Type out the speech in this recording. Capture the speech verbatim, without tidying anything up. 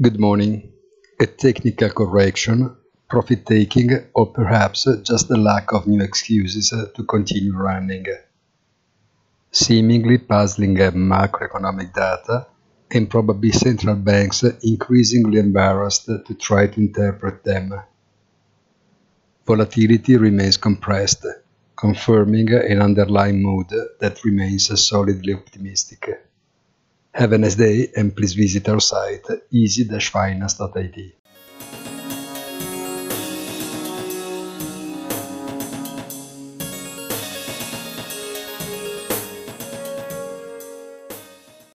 Good morning. A technical correction, profit-taking, or perhaps just the lack of new excuses to continue running. Seemingly puzzling macroeconomic data, and probably central banks increasingly embarrassed to try to interpret them. Volatility remains compressed, confirming an underlying mood that remains solidly optimistic. Have a nice day and please visit our site easy dash finance dot I T.